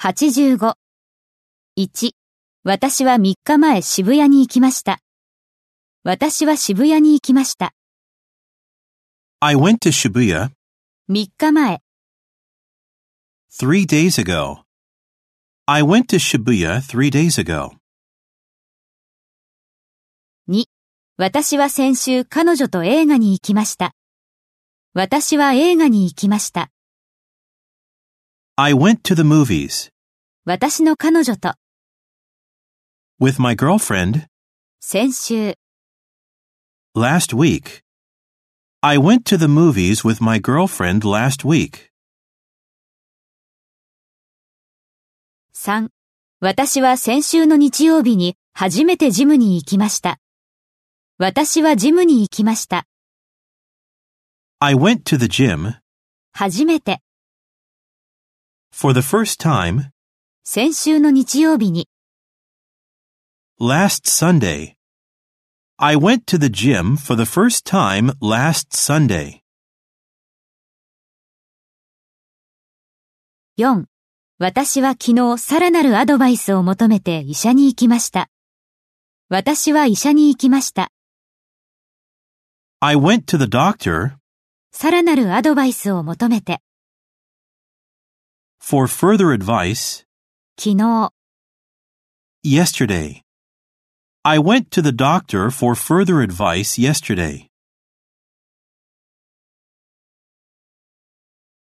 85。1、私は3日前渋谷に行きました。私は渋谷に行きました。 I went to Shibuya 3日前。 3 days ago. I went to Shibuya 3 days ago. 2、私は先週彼女と映画に行きました。私は映画に行きました。 I went to the movies 私の彼女と。 with my girlfriend 先週。 last week. I went to the movies with my girlfriend last week. 3、私は先週の日曜日に初めてジムに行きました。私はジムに行きました。 I went to the gym 初めて。 for the first time 先週の日曜日に。 last Sunday. I went to the gym for the first time last Sunday. 4、私は昨日さらなるアドバイスを求めて医者に行きました。私は医者に行きました。 I went to the doctor さらなるアドバイスを求めて。 for further advice 昨日。 yesterday. I went to the doctor for further advice yesterday.